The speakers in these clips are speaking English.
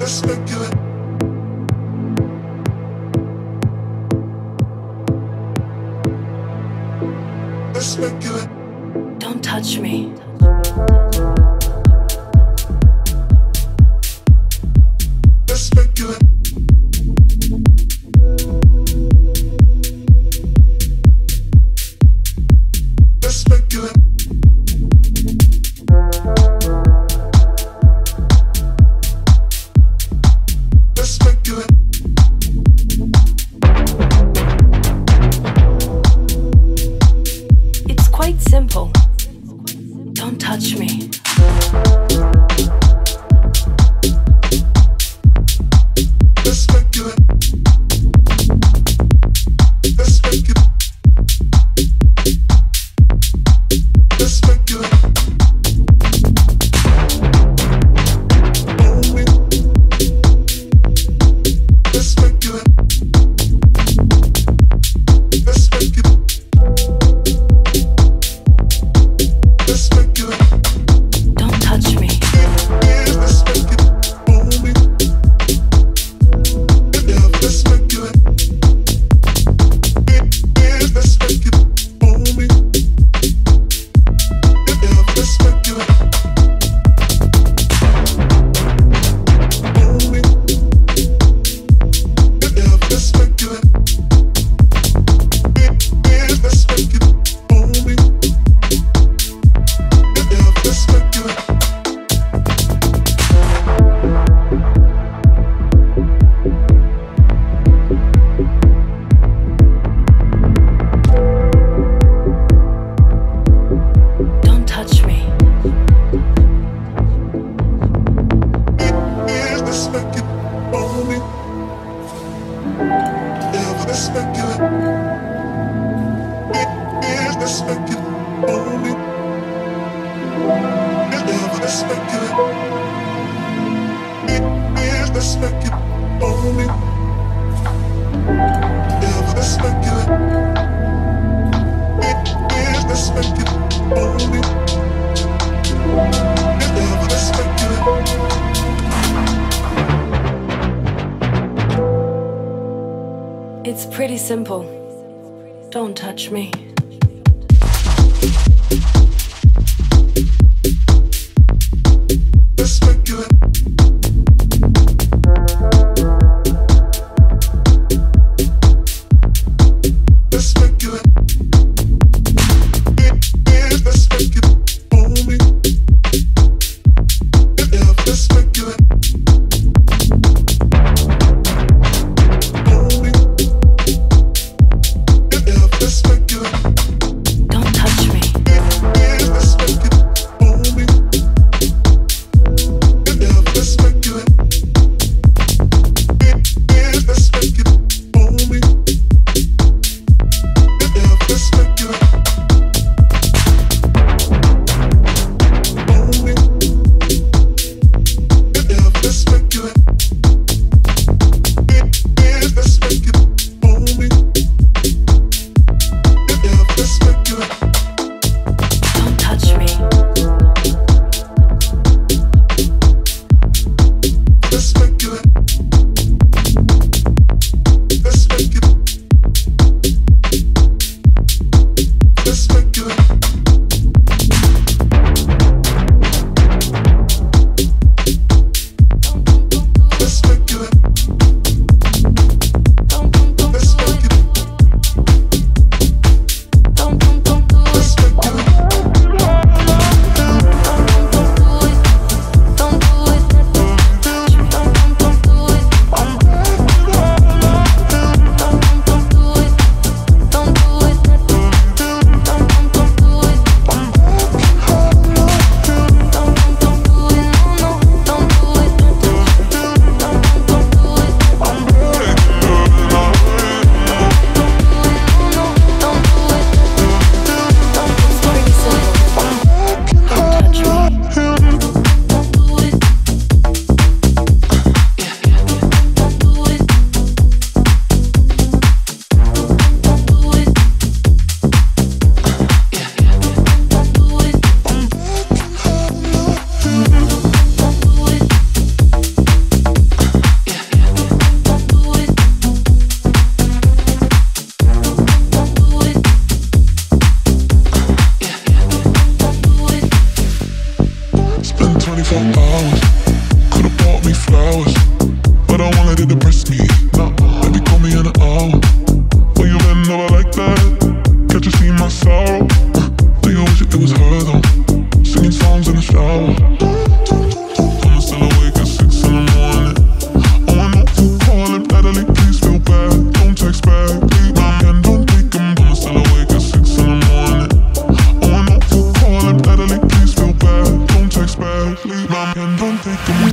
Don't touch me. It's quite simple. Don't touch me. Don't touch me. Don't touch me. It's pretty simple. Don't touch me. Don't touch me. rhythm, singing songs in the shower. I'm still awake at 6 in the morning. Oh, I know you calling, Natalie, please feel bad. Don't text back, leave my hand, don't take 'em. I'm still awake at 6 in the morning. Oh, I know you calling, Natalie, please feel bad. Don't text back, leave my hand, don't take 'em.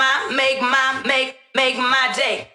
my day.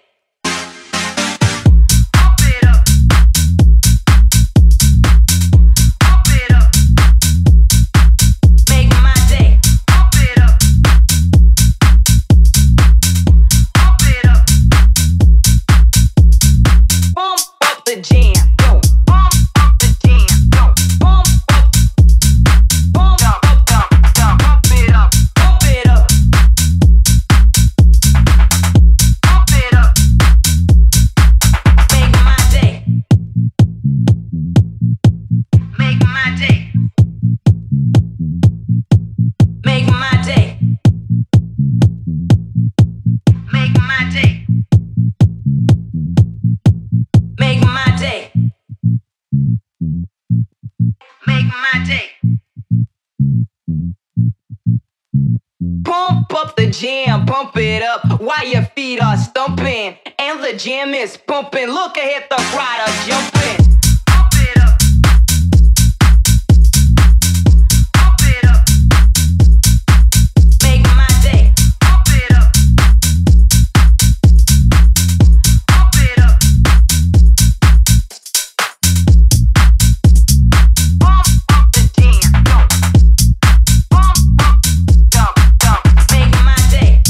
Pump it up while your feet are stumping and the jam is pumping. Look ahead, the crowd are jumping. Pump it up. Pump it up. Make my day. Pump it up. Pump it up. Pump up the jam. Pump up, dump, dump. Make my day.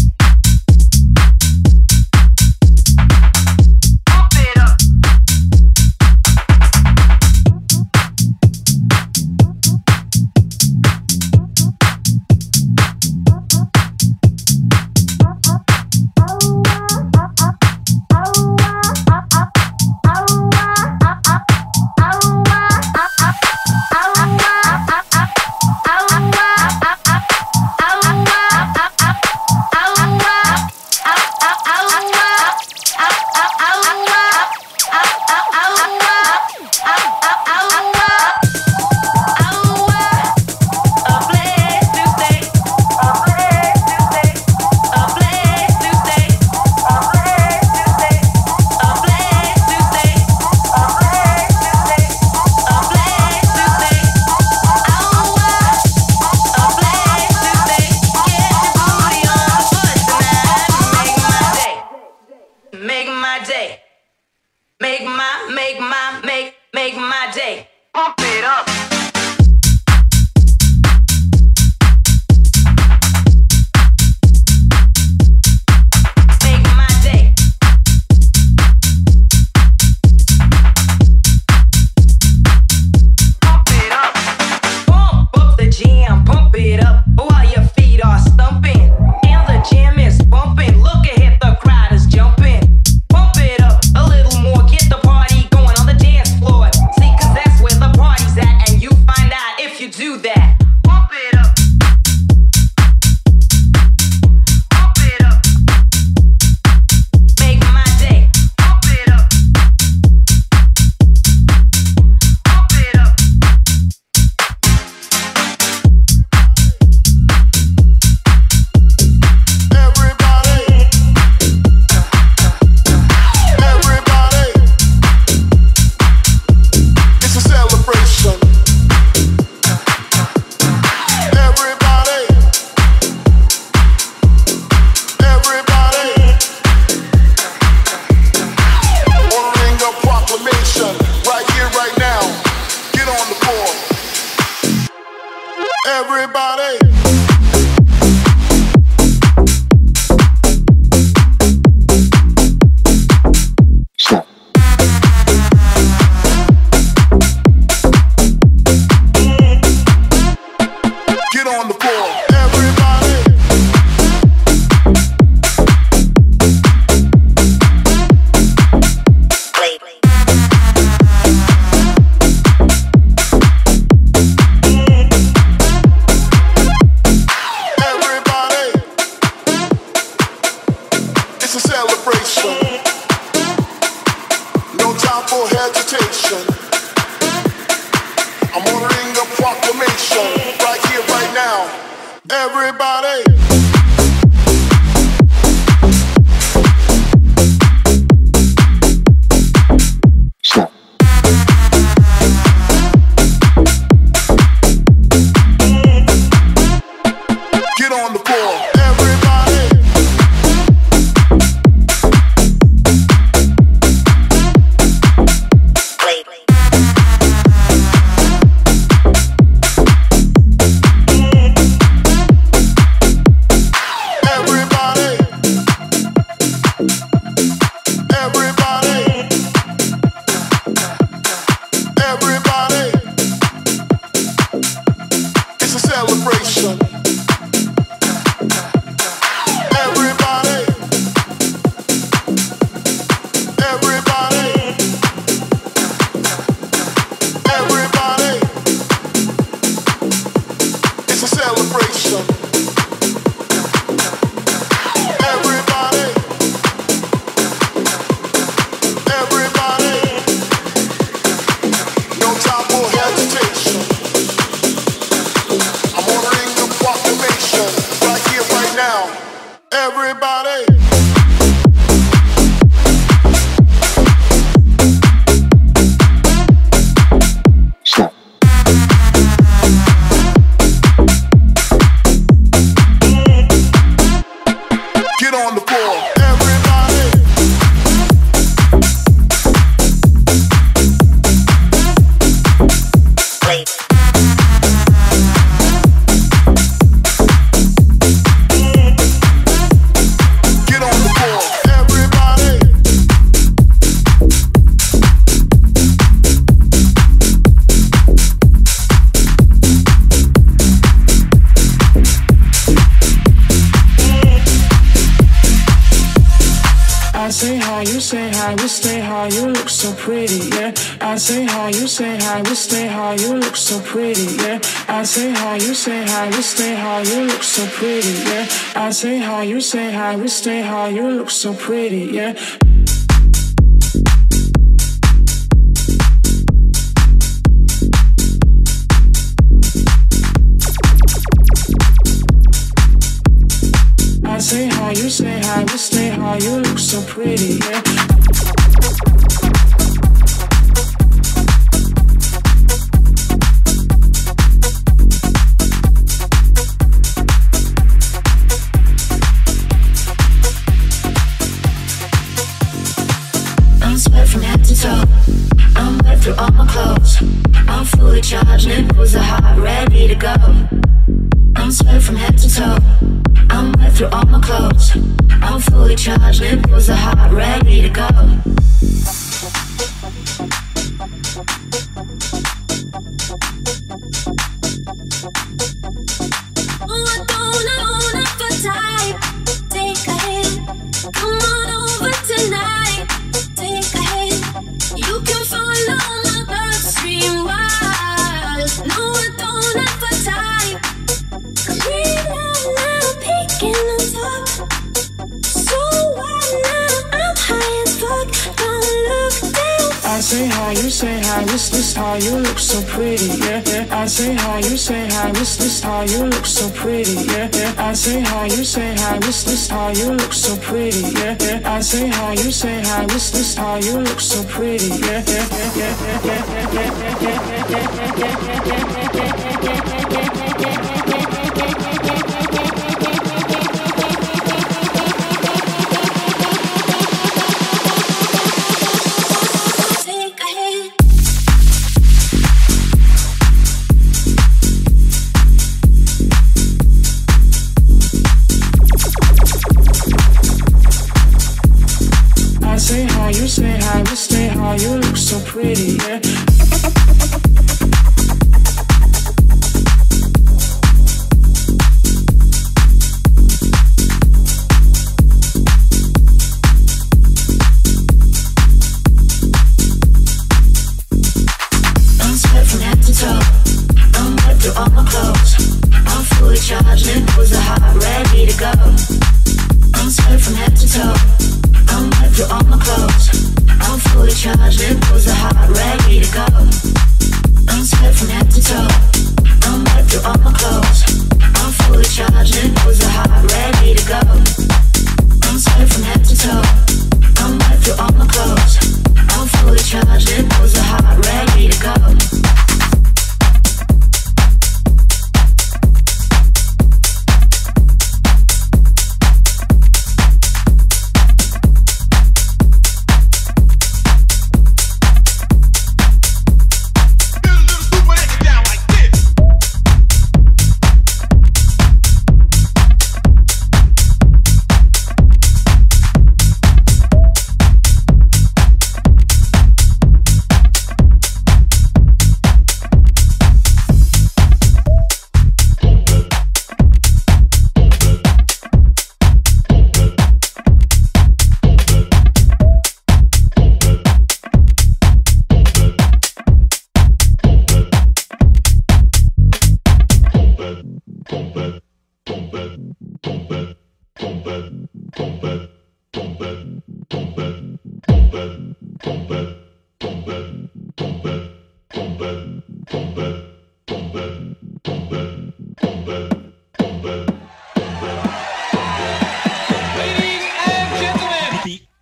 Make my day. Pump it up. Make my day. Pump it up. Pump up the jam, pump it up while your feet are stumping and the jam is bumping. Look ahead, the crowd is jumping. Pump it up a little more, get the party going on the dance floor. See, 'cause that's where the party's at, and you find out if you do that. Pump it up. Pump it up. Make my day. Pump it up. Pump it up. Everybody, it's a celebration. Everybody, ordering a proclamation right here, right now. Get on the floor. Everybody. Get on the floor, everybody. Everybody, it's a celebration. No time for hesitation. I'm ordering a proclamation right here, right now. Everybody. Get on the floor, everybody. Say hi, you say hi, we stay high, you look so pretty, yeah. I say hi, you say hi, we stay high, you look so pretty, yeah. From head to toe, I'm wet through all my clothes. I'm fully charged, nipples are hot, ready to go. I'm sweat from head to toe, I'm wet through all my clothes. I'm fully charged, nipples are hot, ready to go. I say hi, you say hi, this how you look so pretty, yeah, yeah. I say hi, you say hi, this how you look so pretty, yeah, yeah. I say hi, you say hi, this how you look so pretty, yeah, yeah. I say hi, you say hi, this how you look so pretty, yeah, yeah, yeah, yeah, yeah, yeah, yeah, you say hi, we stay high, you look so pretty, yeah. I'm sweat from head to toe, I'm wet through all my clothes. I'm fully charged, nipples are hot, ready to go. I'm sweat from head to toe, I'm wet through all my clothes. I'm fully charged, nipples are hot, ready to go. I'm sweat from head to toe, I'm wet through all my clothes. I'm fully charged, nipples are hot, ready to go. I'm sweat from head to toe, I'm wet through all my clothes. I'm fully charged, nipples are hot, ready to go.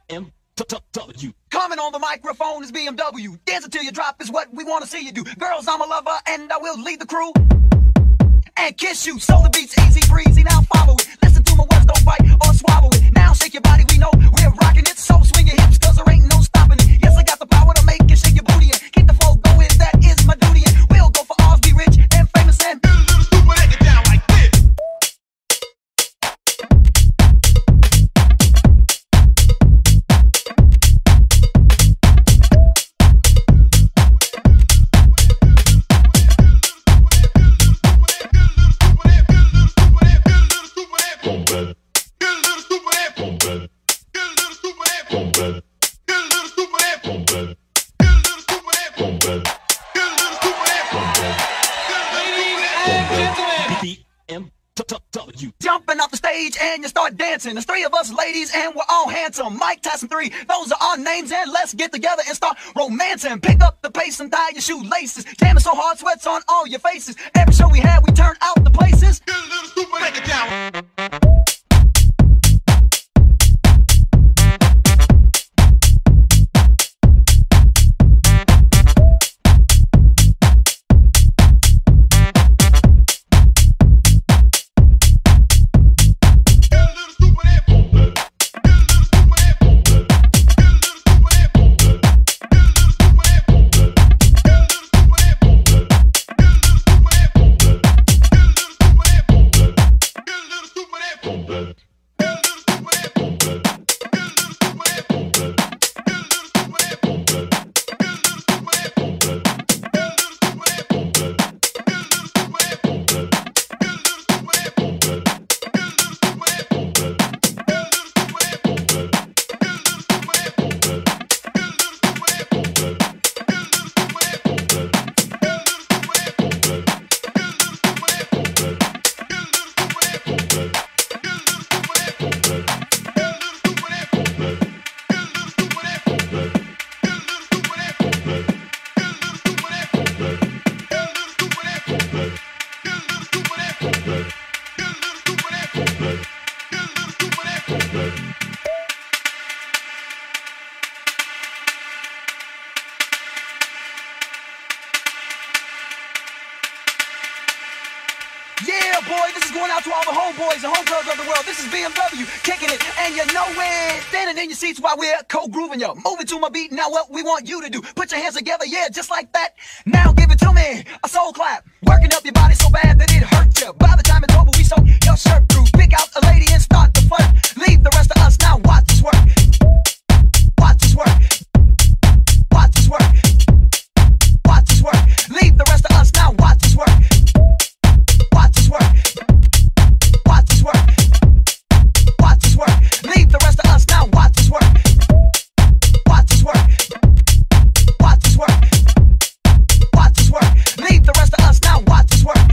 BMW. Coming on the microphone is BMW. Dancing till you drop is what we want to see you do. Girls, I'm a lover and I will lead the crew and kiss you. So the beat's easy breezy, now follow it. Listen to my words, don't bite or swallow it. Now shake your body, we know we're rocking it. So swing your hips, cause there ain't no stopping it. Yes, I got the power to make you shake your booty and keep the flow going, that is my duty. And we'll go for ours, be rich and famous and Get a little stupid and get down like this. BMW. jumping off the stage and you start dancing. There's three of us ladies and we're all handsome. Mike Tyson 3, those are our names, and let's get together and start romancing. Pick up the pace and tie your shoelaces. Jamming so hard, sweats on all your faces. Every show we had, we turn out the places. Get a little stupid, break it down. Yeah, boy, this is going out to all the homeboys and homegirls of the world. This is BMW, kicking it, and you know it. Standing in your seats while we're co-grooving you. Moving to my beat, now what we want you to do. Put your hands together, yeah, just like that. Now give it to me, a soul clap. Working up your body so bad that it hurts you. By the time it's over, we soak your shirt through. Pick out a lady and start the flirt. Leave the rest of us, now watch this work. Watch this work. Watch this work. Watch this work. Leave the rest of us, now watch this work. Watch this work. Watch this work. Watch this work. Leave the rest of us now. Watch this work. Watch this work. Watch this work. Watch this work. Leave the rest of us now. Watch this work.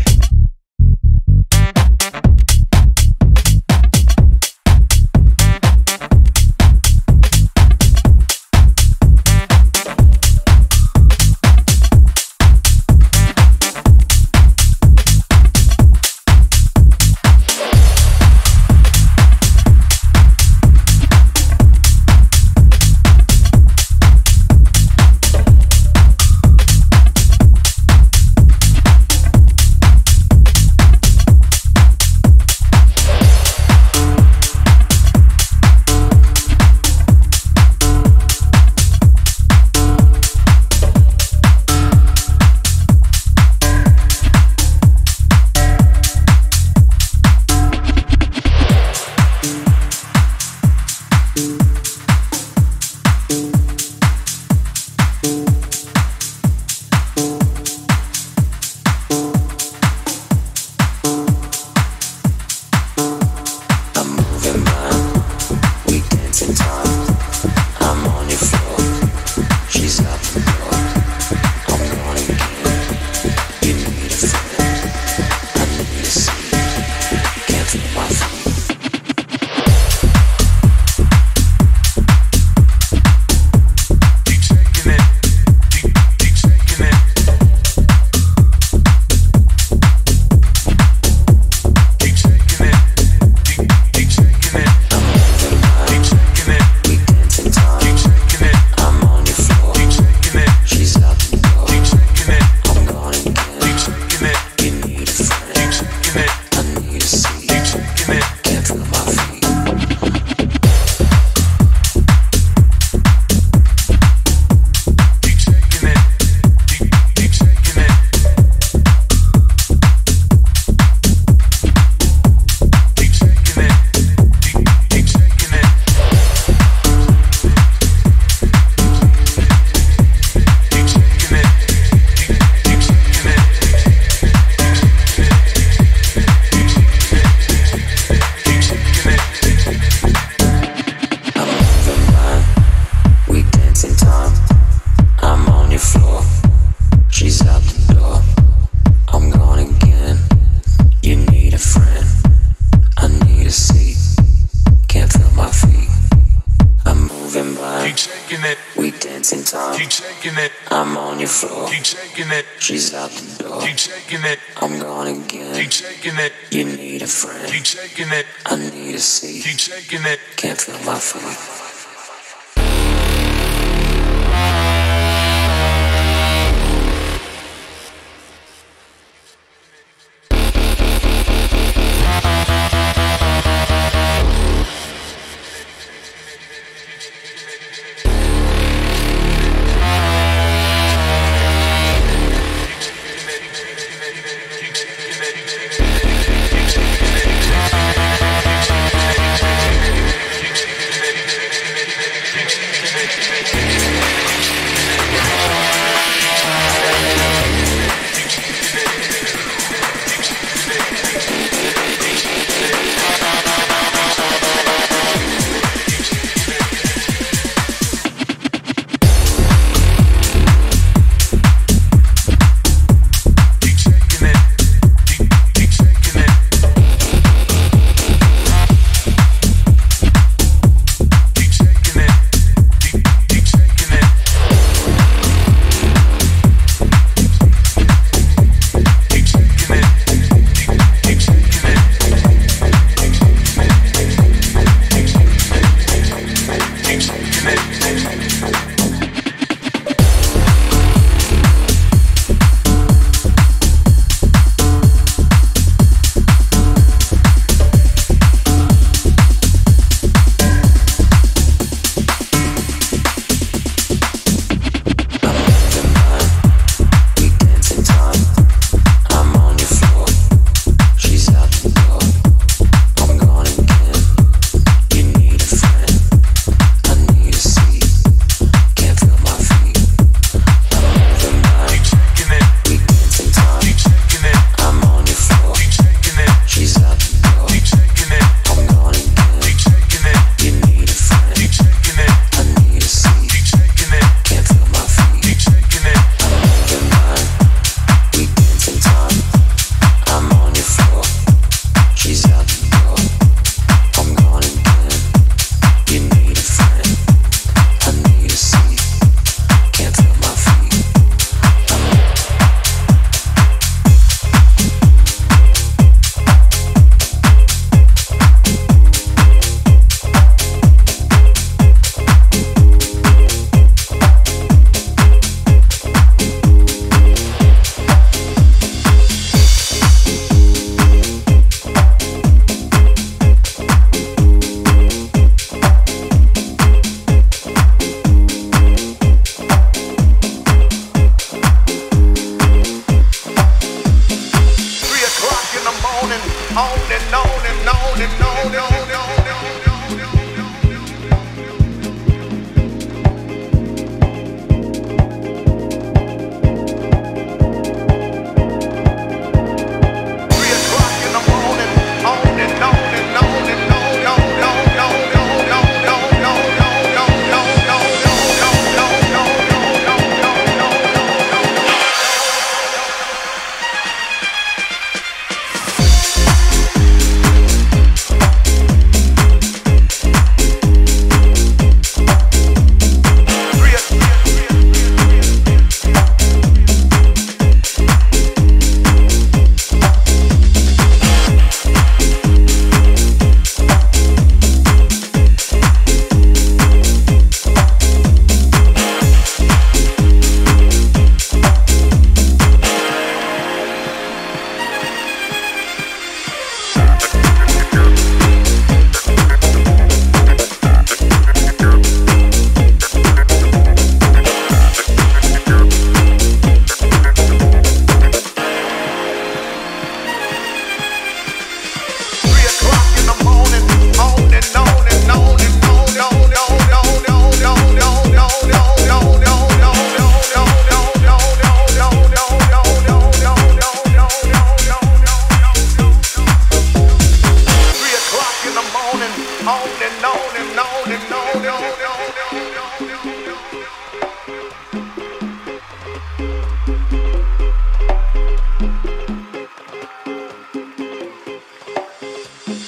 it. We dancing time. Keep shaking it. I'm on your floor. Keep shaking it. She's out the door. Keep shaking it. I'm gone again. Keep shaking it. You need a friend. Keep shaking it. I need a seat. Keep shaking it. Can't feel my feet.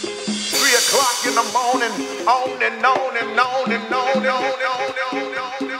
o'clock in the morning, on and on and on and on and on and on and on.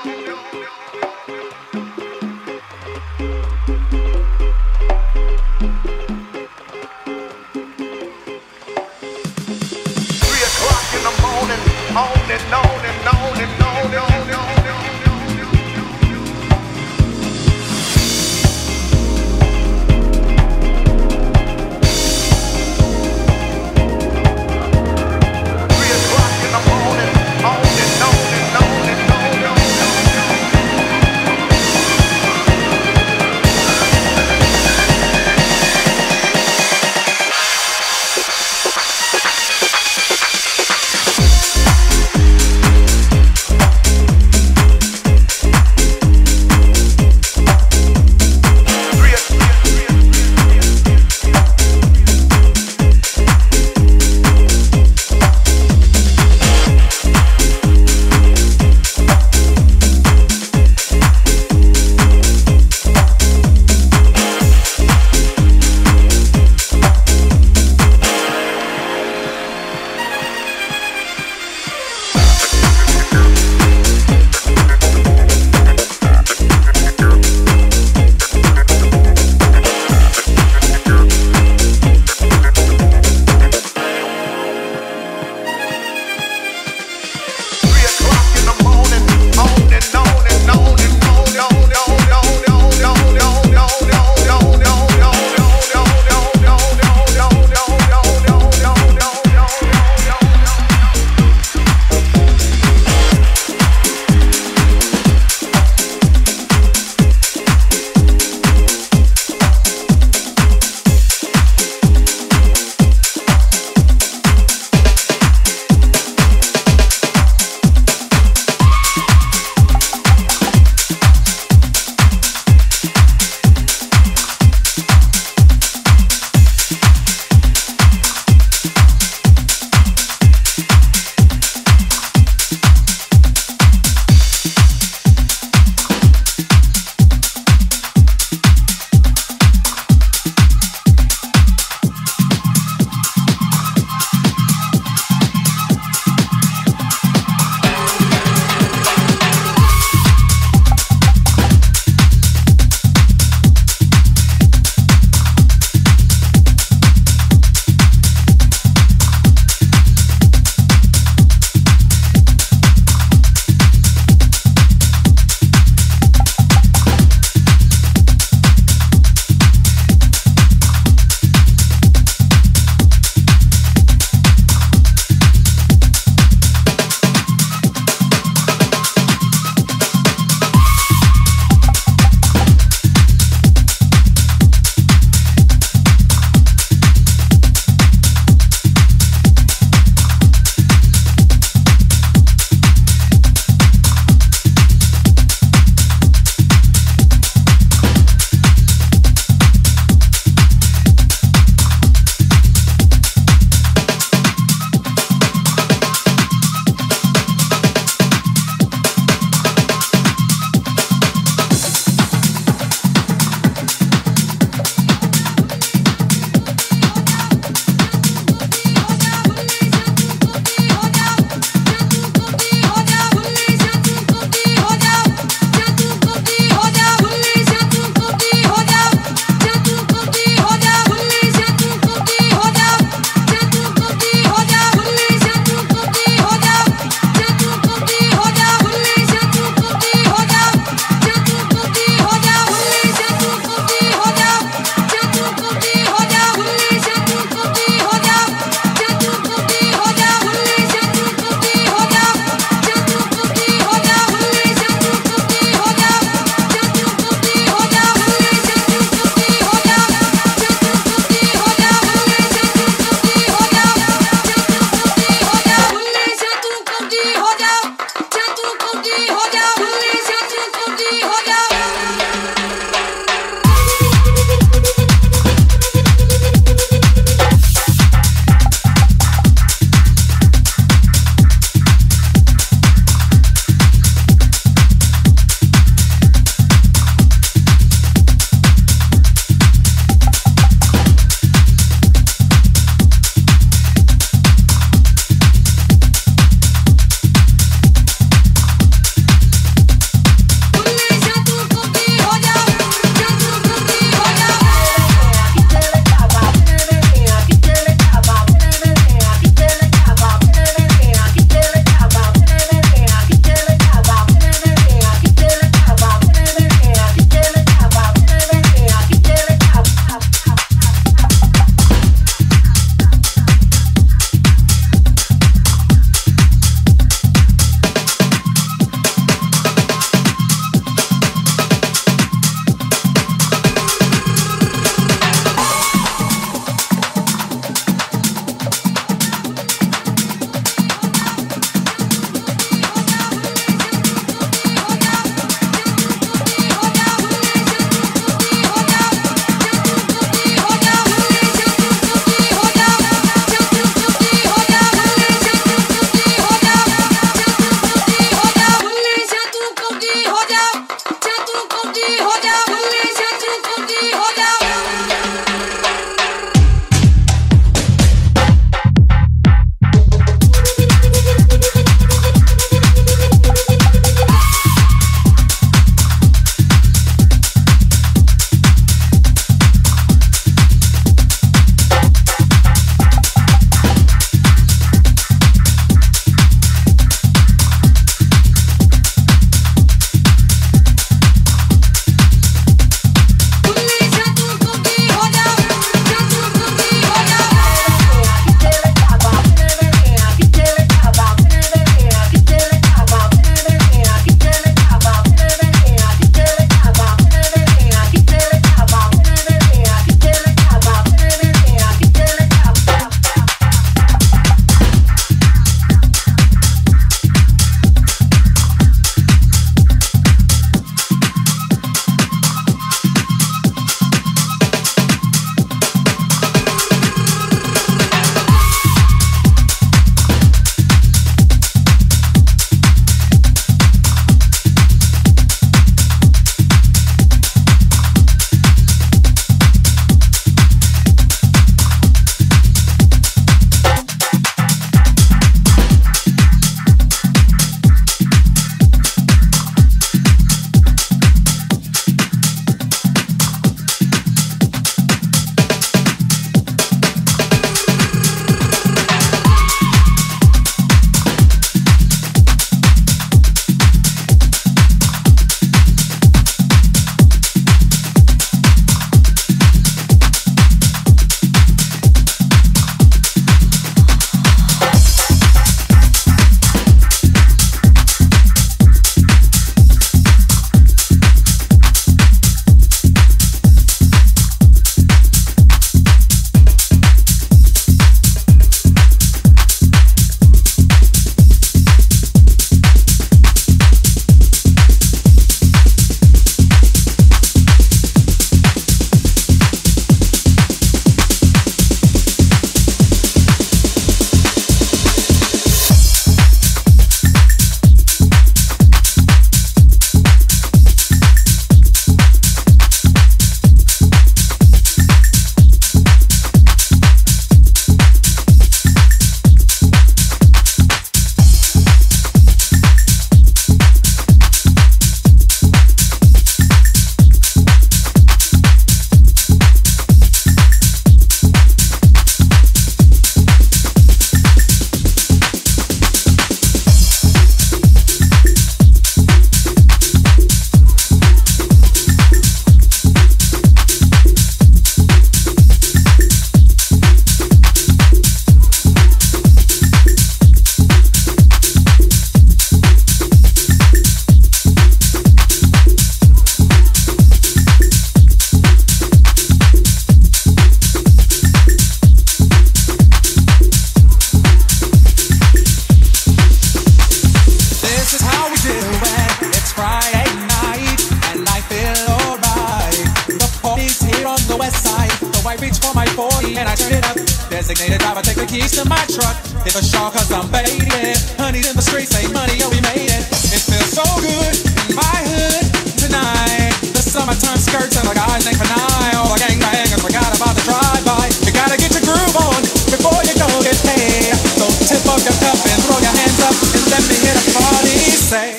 Designated driver, take the keys to my truck. Hit the shawl cause I'm faded. Honey's in the streets, say money, yo, we made it. It feels so good in my hood tonight. The summertime skirts and the guys ain't for night. All the gangbangers forgot about the drive-by. You gotta get your groove on before you go get paid. So tip up your cup and throw your hands up and let me hear the party say.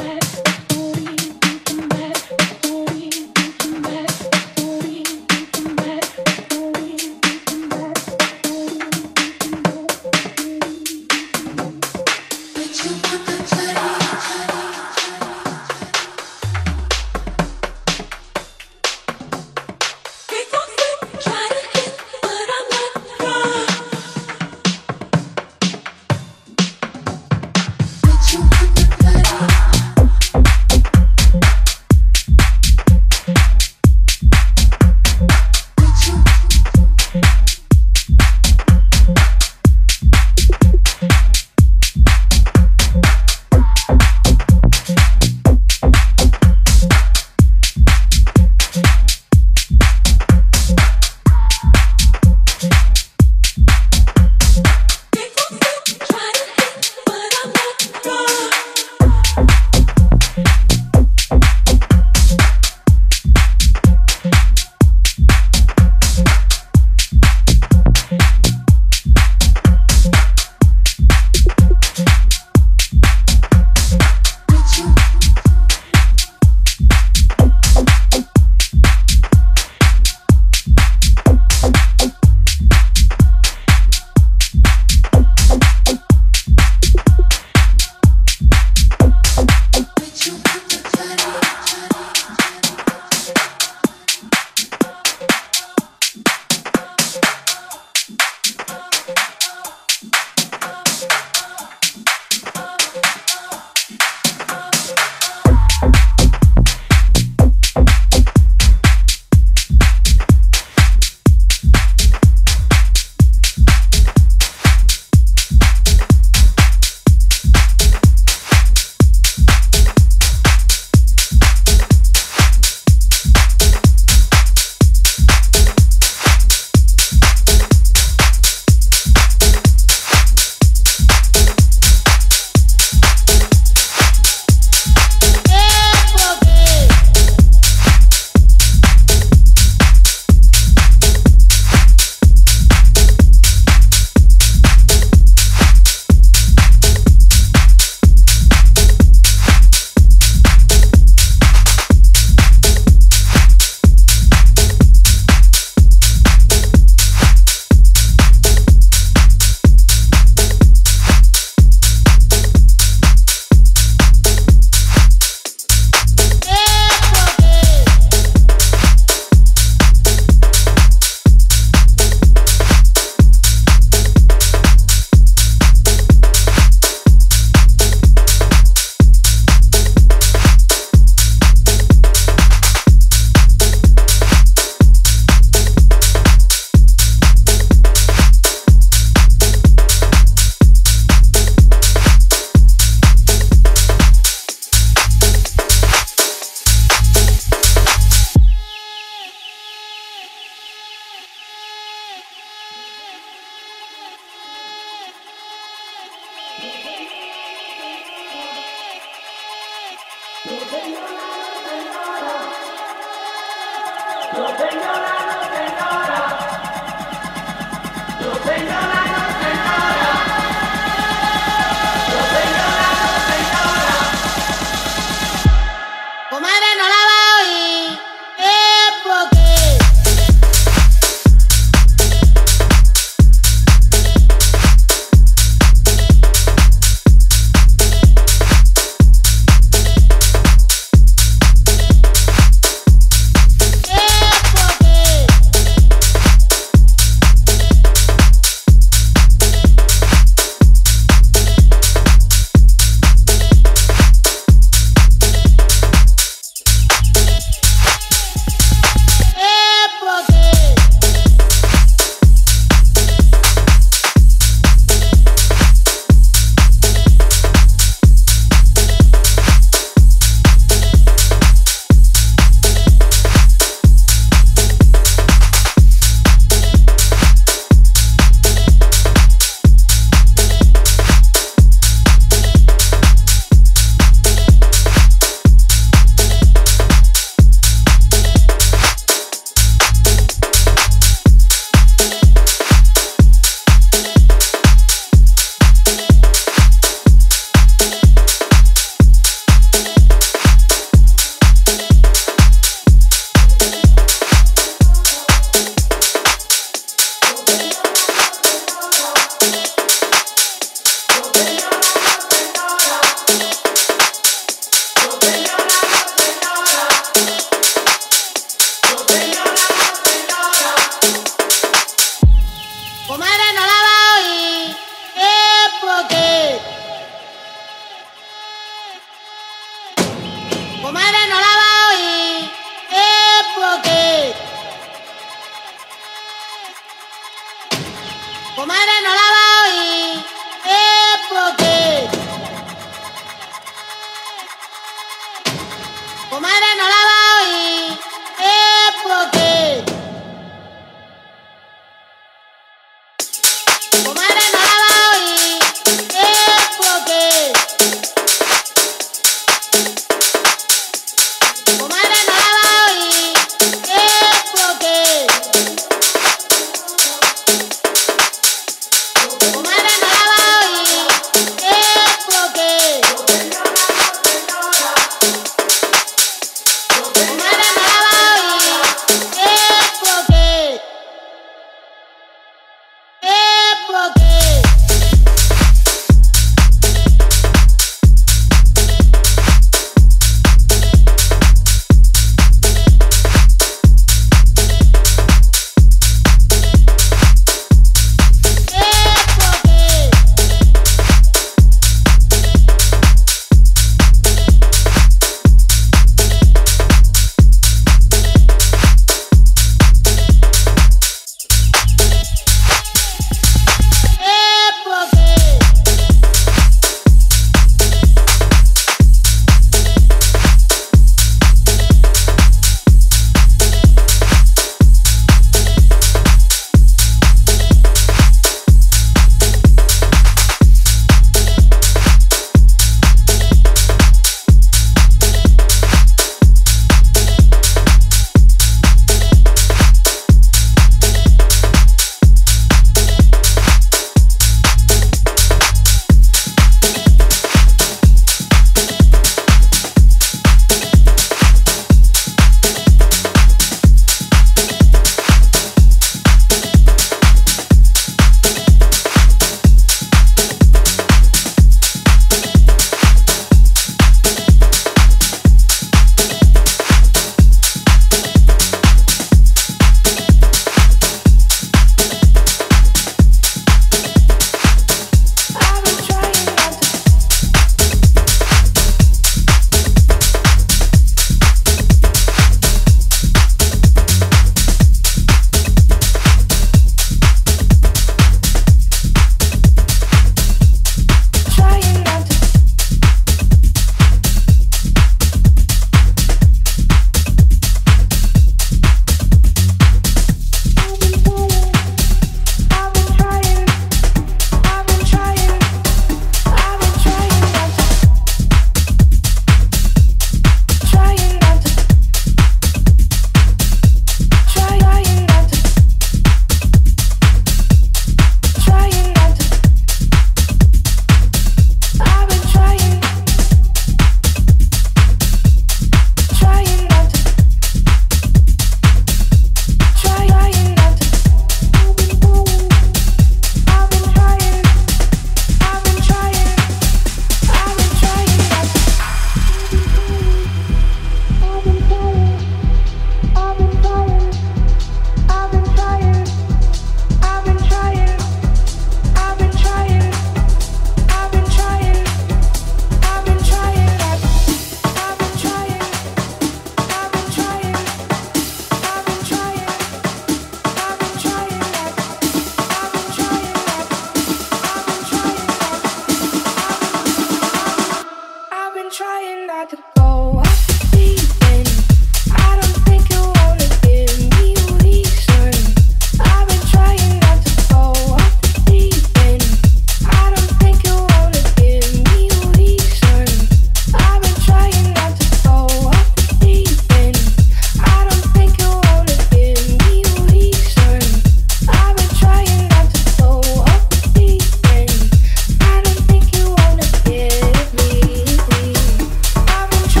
not to go off the deep end. I don't think you wanna give me a reason. I've been trying not to go off the deep end. I don't think you wanna give me a reason. I've been trying not to go off the deep end. I don't think you wanna give me a reason. I've been trying not to go off the deep end. I don't think you wanna give me. I've been trying.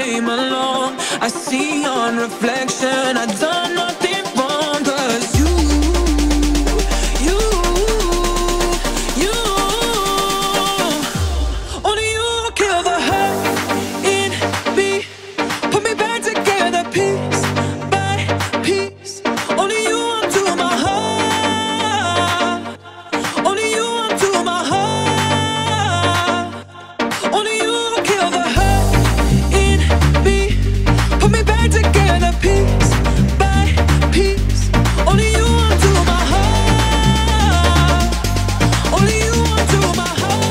came along. I see your reflection. I done nothing wrong, 'cause only you kill the hurt in me. Put me back together piece by piece. Only you undo my heart. Only you undo my heart. Only you kill the hurt in me. Put me back together piece by piece. Only you undo my heart. Only you undo my heart.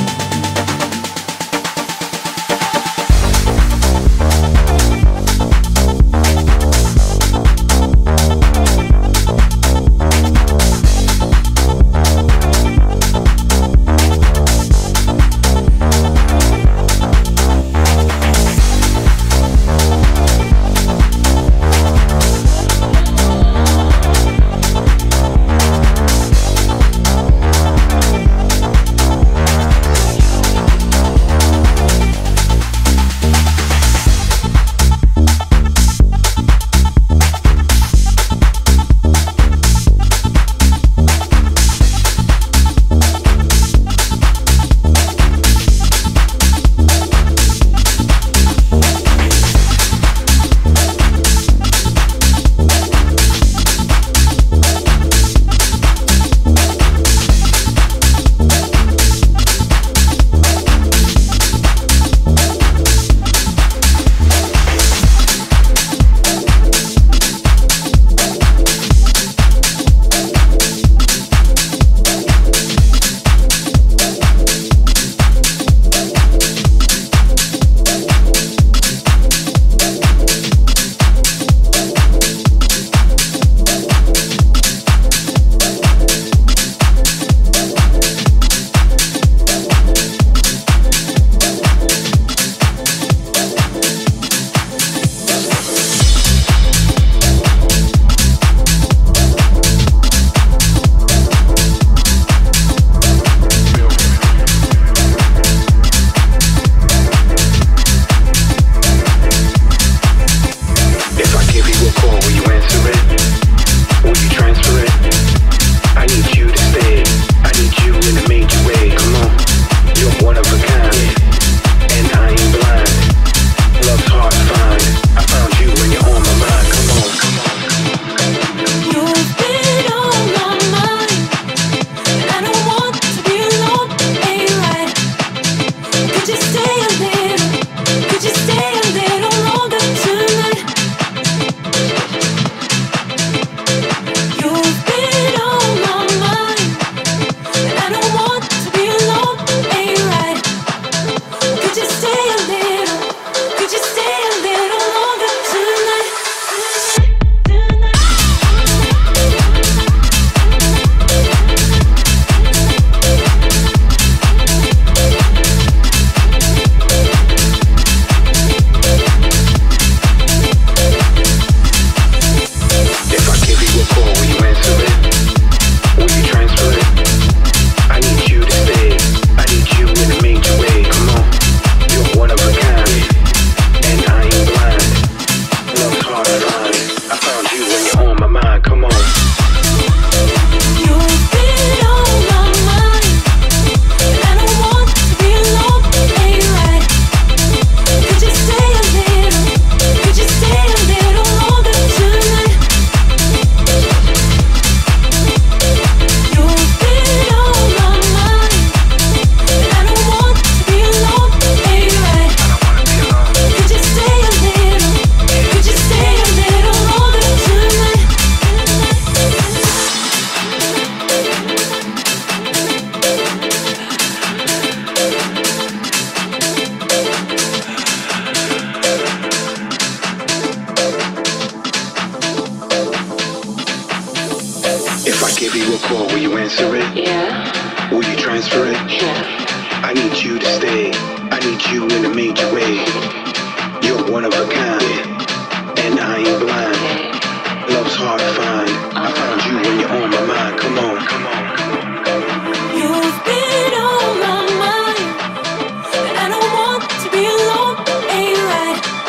You've been on my mind, and I don't want to be alone. Ain't right.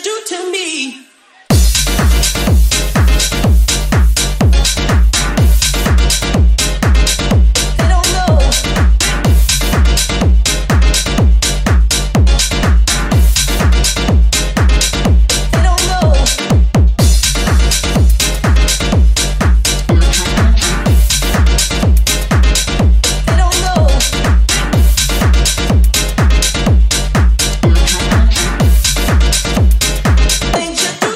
do to me. Things you do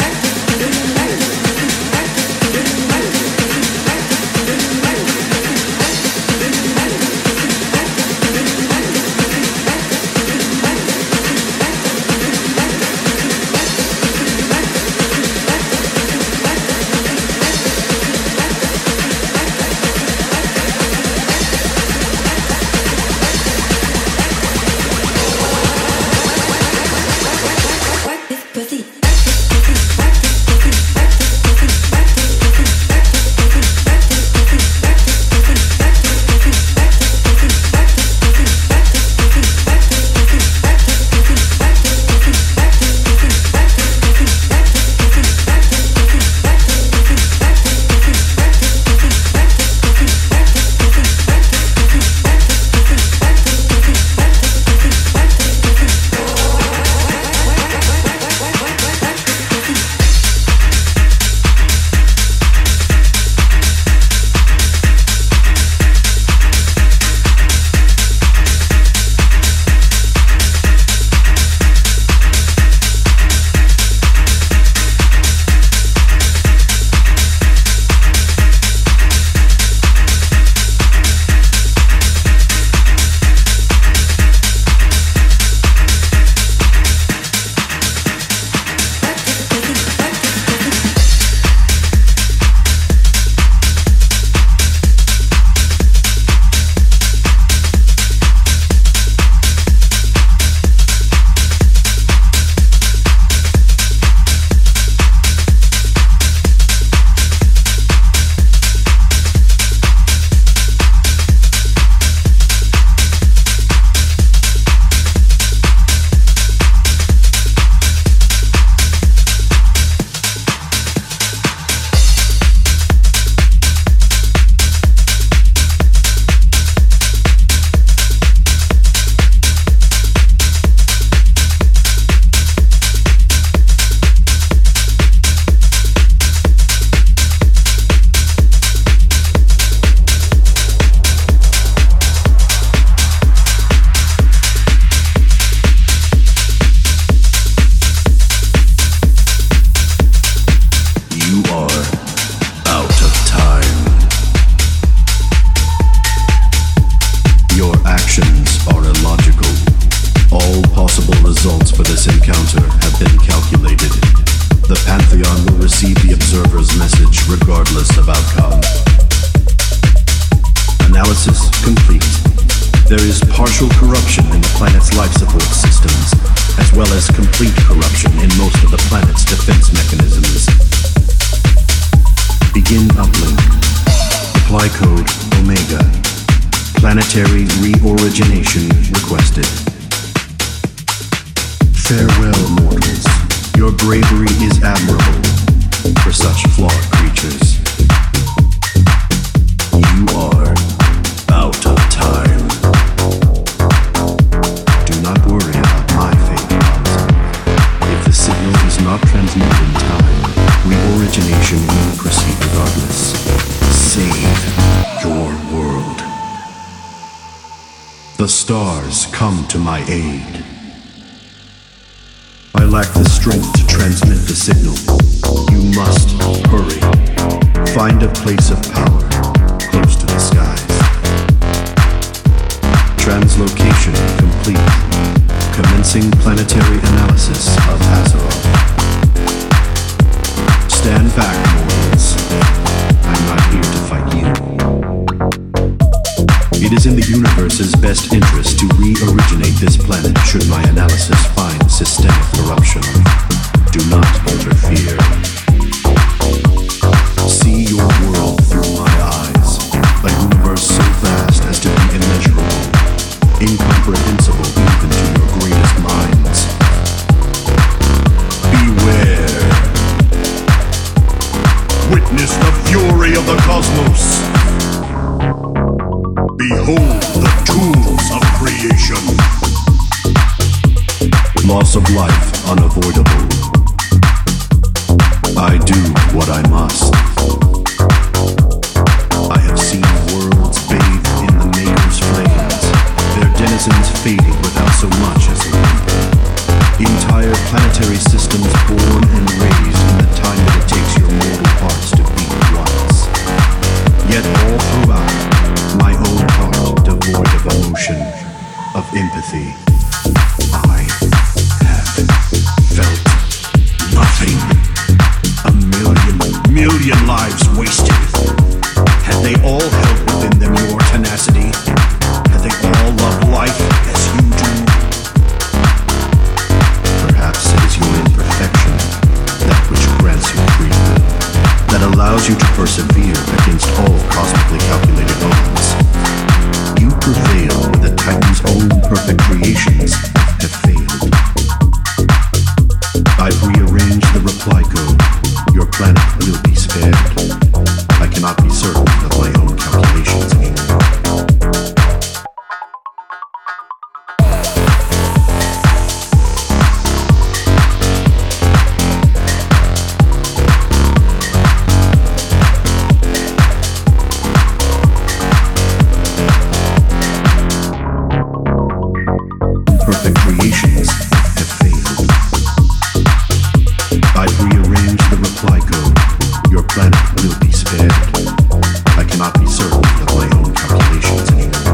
incomprehensible even to your greatest minds. Beware. Witness the fury of the cosmos. Behold the tools of creation. Loss of life unavoidable. I do what I must. I have seen worlds bathed in the Maker's flames, their denizens fading without so much as a wimper. Entire planetary systems born and raised in the time that it takes your mortal hearts to beat once. Yet all throughout, my own heart devoid of emotion, of empathy, I have felt nothing. A million lives wasted. Had they all held within them your tenacity? Had they all loved life as you do? Perhaps it is your imperfection, that which grants you free will, that allows you to persevere against all cosmically calculated odds. You prevail where the Titan's own perfect creations have failed. I've rearranged the reply code. Your planet will be spared. I cannot be certain of my own calculations anymore. Perfect creations have failed. I've rearranged the reply code. Your planet will be spared. I cannot be certain of my own calculations anymore.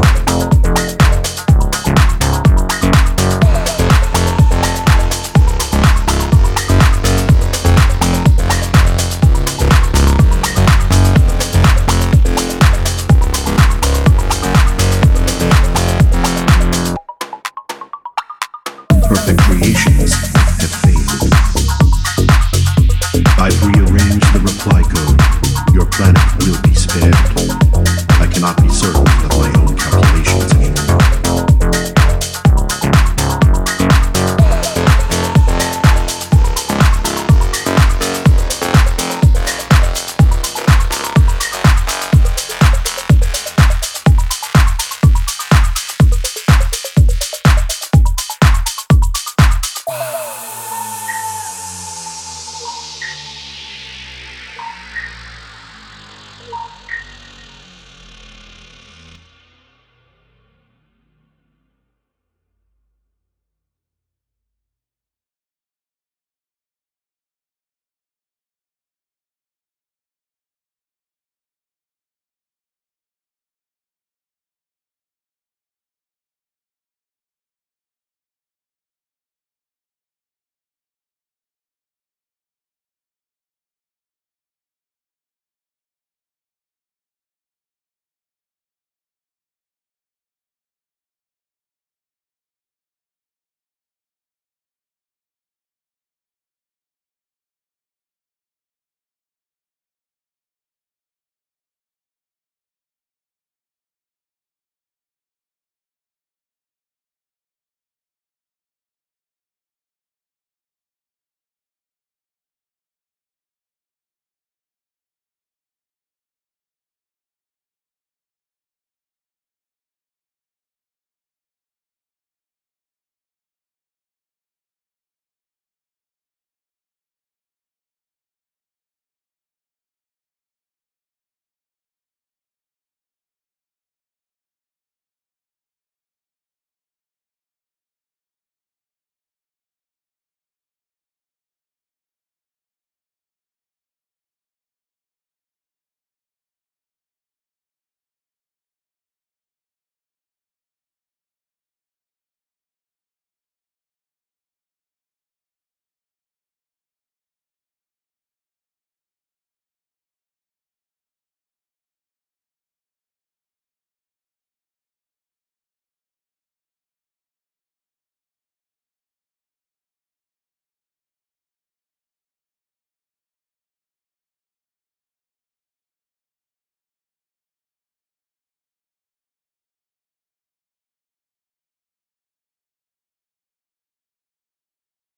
Perfect creations have failed. I've rearranged the reply code. Your planet will be spared.